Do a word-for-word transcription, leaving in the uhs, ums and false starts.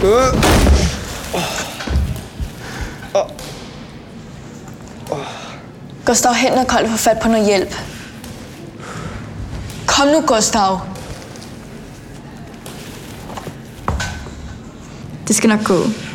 Gustav, hen og kold få fat på noget hjælp. Kom nu, Gustav. Det skal nok gå.